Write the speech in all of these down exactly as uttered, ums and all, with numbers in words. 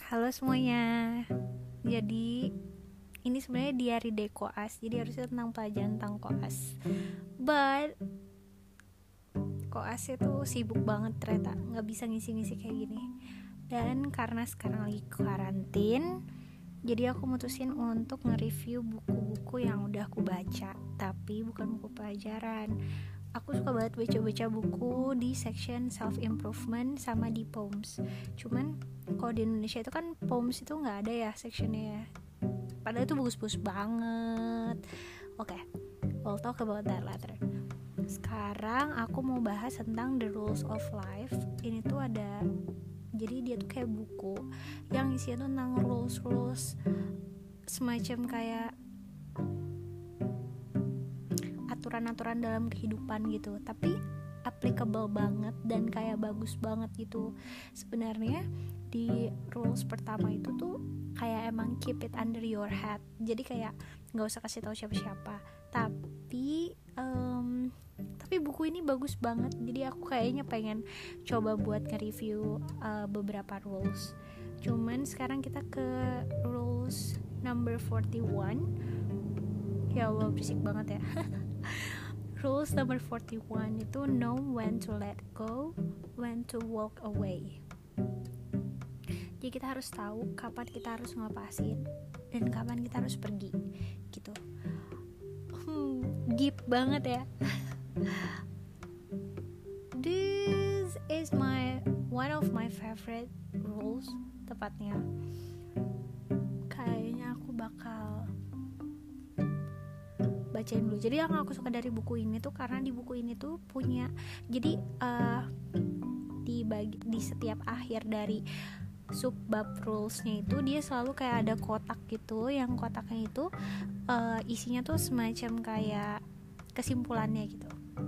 Halo semuanya. Jadi ini sebenarnya diary day koas. Jadi harusnya tentang pelajaran tentang koas. But koas itu sibuk banget ternyata, nggak bisa ngisi-ngisi kayak gini. Dan karena sekarang lagi karantin, jadi aku mutusin untuk nge-review buku-buku yang udah aku baca, tapi bukan buku pelajaran. Aku suka banget baca-baca buku di section self improvement sama di poems. Cuman kalau di Indonesia itu kan poems itu nggak ada ya sectionnya ya. Padahal itu bagus-bagus banget. Oke, okay, we'll talk about that later. Sekarang aku mau bahas tentang The Rules of Life. Ini tuh ada, jadi dia tuh kayak buku yang isinya tuh tentang rules-rules semacam kayak aturan-aturan dalam kehidupan gitu, tapi applicable banget dan kayak bagus banget gitu. Sebenarnya di rules pertama itu tuh kayak emang keep it under your head, jadi kayak nggak usah kasih tahu siapa-siapa. Tapi um, tapi buku ini bagus banget, jadi aku kayaknya pengen coba buat nge-review uh, beberapa rules. Cuman sekarang kita ke rules number forty-one. Ya Allah, berisik banget ya. Rules number forty-one itu know when to let go, when to walk away. Jadi kita harus tahu kapan kita harus ngelepasin dan kapan kita harus pergi gitu. Hmm, deep banget ya. This is my one of my favorite rules, tepatnya. Kayaknya aku bakal bacain dulu. Jadi yang aku suka dari buku ini tuh karena di buku ini tuh punya, jadi uh, di bagi, di setiap akhir dari subbab rulesnya itu dia selalu kayak ada kotak gitu, yang kotaknya itu uh, isinya tuh semacam kayak kesimpulannya gitu.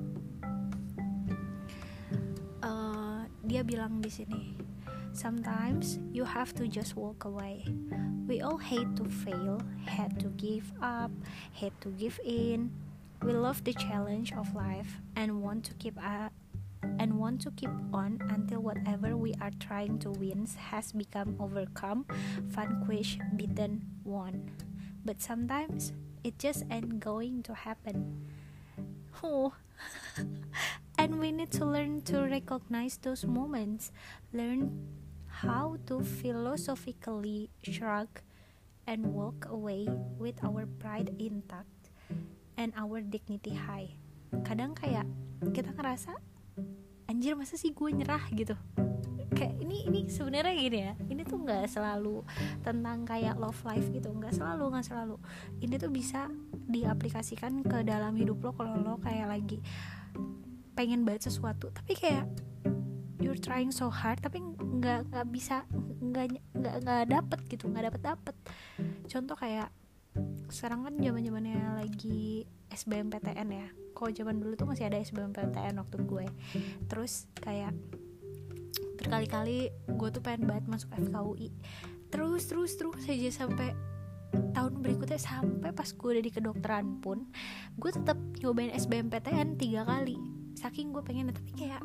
Uh, dia bilang di sini, sometimes you have to just walk away. We all hate to fail, hate to give up, hate to give in. We love the challenge of life and want to keep up and want to keep on until whatever we are trying to win has become overcome, vanquished, beaten, won. But sometimes it just ain't going to happen. Oh. And we need to learn to recognize those moments, learn how to philosophically shrug and walk away with our pride intact and our dignity high. Kadang kayak kita ngerasa, anjir masa sih gue nyerah gitu. Kayak ini ini sebenarnya gini ya. Ini tuh nggak selalu tentang kayak love life gitu, nggak selalu nggak selalu. Ini tuh bisa diaplikasikan ke dalam hidup lo kalau lo kayak lagi pengen banget sesuatu, tapi kayak you're trying so hard tapi nggak nggak bisa nggak nggak nggak dapet gitu nggak dapet dapet contoh kayak sekarang kan zaman zamannya lagi S B M P T N ya. Kalau zaman dulu tuh masih ada S B M P T N waktu gue, terus kayak berkali-kali gue tuh pengen banget masuk F K U I, terus terus terus aja sampai tahun berikutnya, sampai pas gue udah di kedokteran pun gue tetap nyobain S B M P T N tiga kali saking gue pengen, tapi kayak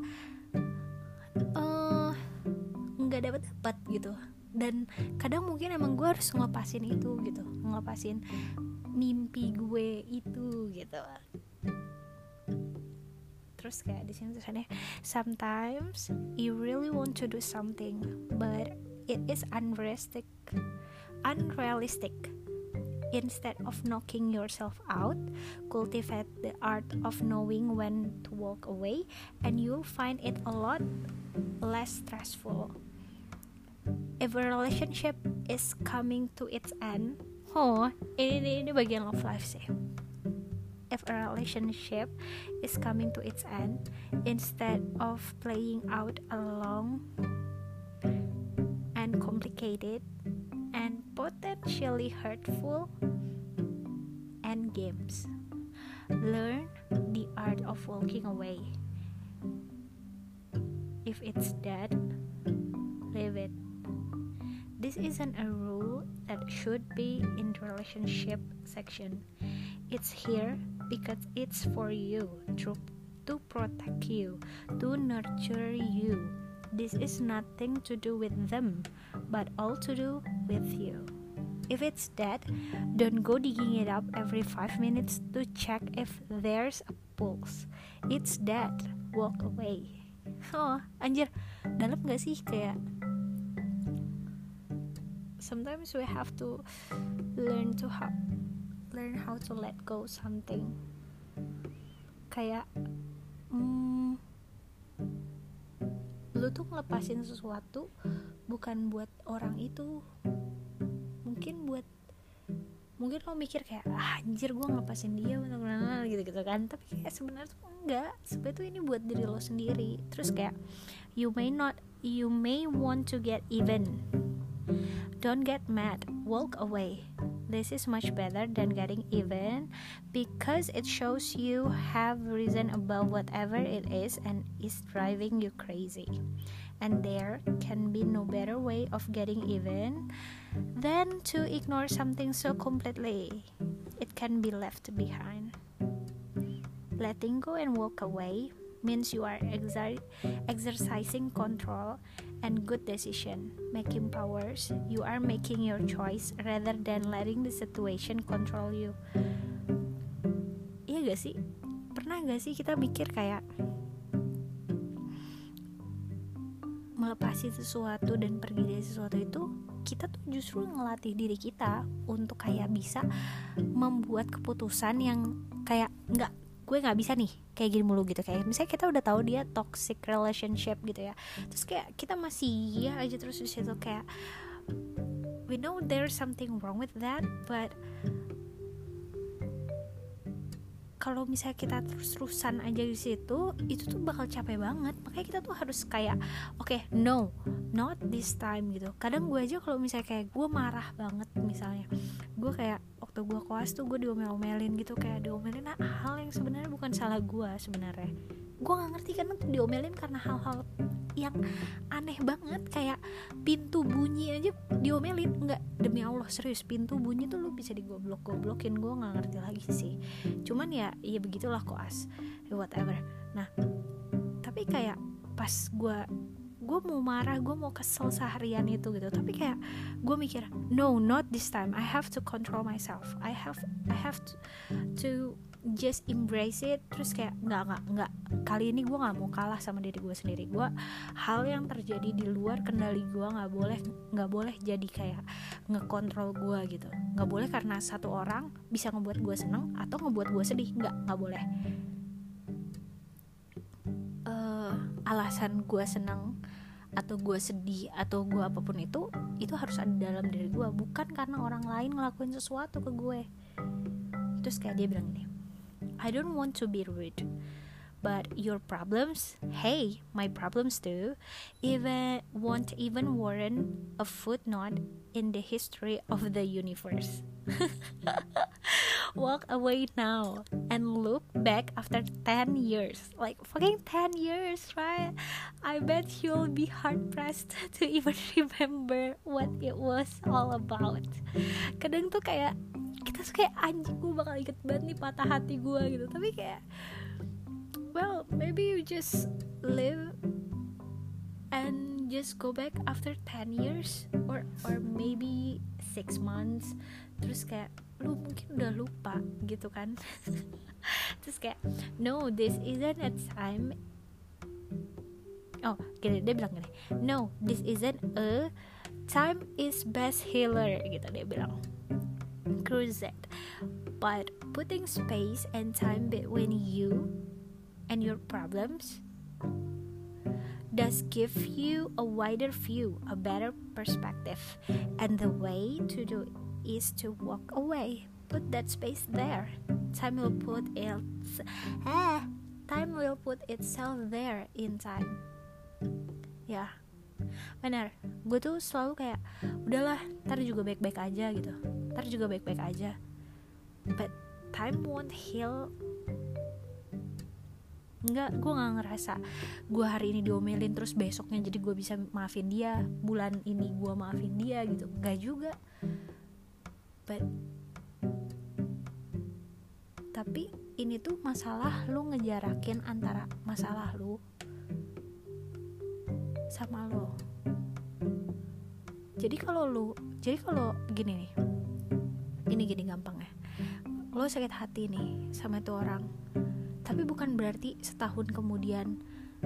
uh, nggak dapat dapat gitu. Dan kadang mungkin emang gue harus ngelepasin itu gitu, ngelepasin mimpi gue itu gitu. Terus kayak di sini tulisannya, sometimes you really want to do something but it is unrealistic unrealistic Instead of knocking yourself out, cultivate the art of knowing when to walk away, and you'll find it a lot less stressful. If a relationship is coming to its end, oh, ini ini bagian love life sih. If a relationship is coming to its end, instead of playing out a long and complicated and potentially hurtful end games, learn the art of walking away. If it's dead, leave it. This isn't a rule that should be in the relationship section. It's here because it's for you, to, to protect you, to nurture you. This is nothing to do with them, but all to do with you. If it's dead, don't go digging it up every five minutes to check if there's a pulse. It's dead, walk away. Oh, anjir, dalam gak sih? Kayak sometimes we have to learn to how learn how to let go something. Kayak hmm, lu tuh ngelepasin sesuatu bukan buat orang itu, mungkin buat mungkin lo mikir kayak ah, anjir gue ngelepasin dia gitu-gitu kan, tapi kayak sebenarnya tuh enggak, sebenarnya tuh ini buat diri lo sendiri. Terus kayak you may not you may want to get even. Don't get mad, walk away. This is much better than getting even, because it shows you have risen above whatever it is and is driving you crazy. And there can be no better way of getting even than to ignore something so completely it can be left behind. Letting go and walk away means you are exer- exercising control and good decision making powers. You are making your choice rather than letting the situation control you. Iya gak sih? Pernah gak sih kita mikir kayak melepasi sesuatu dan pergi dari sesuatu itu, kita tuh justru ngelatih diri kita untuk kayak bisa membuat keputusan yang kayak nggak, gue nggak bisa nih kayak gini mulu gitu. Kayak misalnya kita udah tahu dia toxic relationship gitu ya, terus kayak kita masih ya aja terus di situ, kayak we know there's something wrong with that, but kalau misalnya kita terus-terusan aja di situ, itu tuh bakal capek banget. Makanya kita tuh harus kayak oke, okay, no, not this time gitu. Kadang gue aja kalau misalnya kayak gue marah banget, misalnya gue kayak waktu gue koas tuh gue diomel-omelin gitu, kayak diomelin nah, hal yang sebenarnya bukan salah gue sebenarnya. Gue nggak ngerti karena tuh diomelin karena hal-hal yang aneh banget, kayak pintu bunyi aja diomelin. Nggak, demi Allah serius, pintu bunyi tuh lu bisa digoblok-goblokin. Gue nggak ngerti lagi sih, cuman ya ya begitulah koas, whatever. Nah tapi kayak pas gue gue mau marah, gue mau kesel seharian itu gitu, tapi kayak gue mikir no, not this time, I have to control myself, I have I have to, to just embrace it. Terus kayak nggak nggak nggak kali ini gue nggak mau kalah sama diri gue sendiri. Gue hal yang terjadi di luar kendali gue nggak boleh nggak boleh jadi kayak ngekontrol gue gitu. Nggak boleh karena satu orang bisa ngebuat gue seneng atau ngebuat gue sedih. Nggak nggak boleh. Uh, alasan gue seneng atau gue sedih atau gue apapun itu itu harus ada dalam diri gue, bukan karena orang lain ngelakuin sesuatu ke gue. Terus kayak dia bilang gini, I don't want to be rude, but your problems, hey, my problems too, even won't even warrant a footnote in the history of the universe. Walk away now and look back after ten years. Like fucking ten years, right? I bet you'll be hard pressed to even remember what it was all about. Kadang tuh kayak kita tuh kayak anjing, gue bakal inget banget nih patah hati gue gitu. Tapi kayak well, maybe you just live and just go back after ten years or or maybe six months. Terus kayak lu mungkin udah lupa gitu kan. Terus kayak no, this isn't a time. Oh gini, dia bilang gini, no, this isn't a time is best healer gitu dia bilang. Cruise it, but putting space and time between you and your problems does give you a wider view, a better perspective, and the way to do it is to walk away. Put that space there. Time will put it ah, time will put itself there in time. Ya, benar. Gue tuh selalu kayak udahlah, ntar juga baik-baik aja gitu. Ntar juga baik-baik aja. But time won't heal. Enggak, gue gak ngerasa gue hari ini diomelin terus besoknya jadi gue bisa maafin dia, bulan ini gue maafin dia gitu. Enggak juga. But tapi ini tuh masalah lu ngejarakin antara masalah lu sama lo. Jadi kalau lu, jadi kalau gini nih, ini gini gampang ya. Lo sakit hati nih sama itu orang, tapi bukan berarti setahun kemudian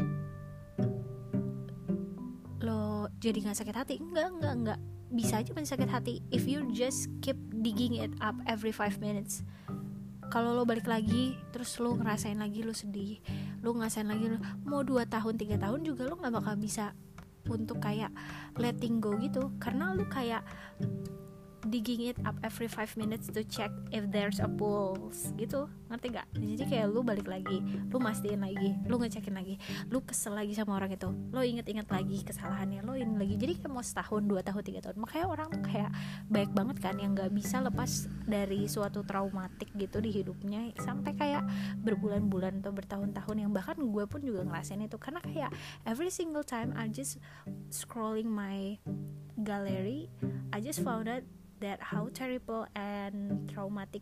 lo jadi nggak sakit hati. Enggak, enggak, enggak. Bisa aja masih sakit hati if you just keep digging it up every five minutes. Kalau lo balik lagi, terus lo ngerasain lagi lo sedih, lo ngerasain lagi lo mau dua tahun, tiga tahun juga lo nggak bakal bisa untuk kayak letting go gitu, karena lo kayak digging it up every five minutes to check if there's a pulse gitu, ngerti gak? Jadi kayak lu balik lagi, lu mastiin lagi, lu ngecekin lagi, lu kesel lagi sama orang itu, lu inget-inget lagi kesalahannya, lu ini lagi. Jadi kayak mau setahun, dua tahun, tiga tahun. Makanya orang kayak baik banget kan yang gak bisa lepas dari suatu traumatik gitu di hidupnya sampai kayak berbulan-bulan atau bertahun-tahun, yang bahkan gue pun juga ngerasain itu. Karena kayak every single time I just scrolling my gallery, I just found out that how terrible and traumatic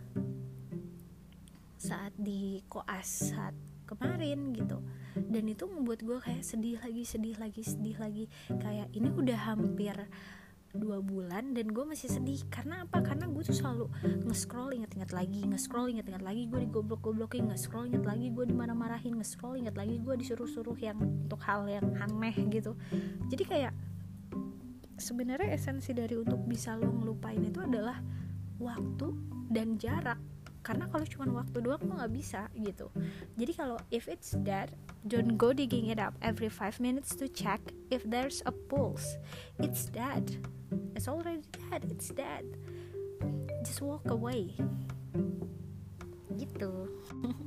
saat di koas saat kemarin gitu. Dan itu membuat gue kayak sedih lagi, sedih lagi, sedih lagi. Kayak ini udah hampir dua bulan dan gue masih sedih. Karena apa? Karena gue tuh selalu nge-scroll inget-inget lagi, nge-scroll inget-inget lagi gue digoblok-goblokin, nge-scroll inget lagi gue dimarah-marahin, nge-scroll inget lagi gue disuruh-suruh yang untuk hal yang aneh gitu. Jadi kayak sebenarnya esensi dari untuk bisa lo ngelupain itu adalah waktu dan jarak. Karena kalau cuma waktu doang lo nggak bisa gitu. Jadi kalau if it's dead, don't go digging it up every five minutes to check if there's a pulse. It's dead. It's already dead. It's dead. Just walk away. Gitu.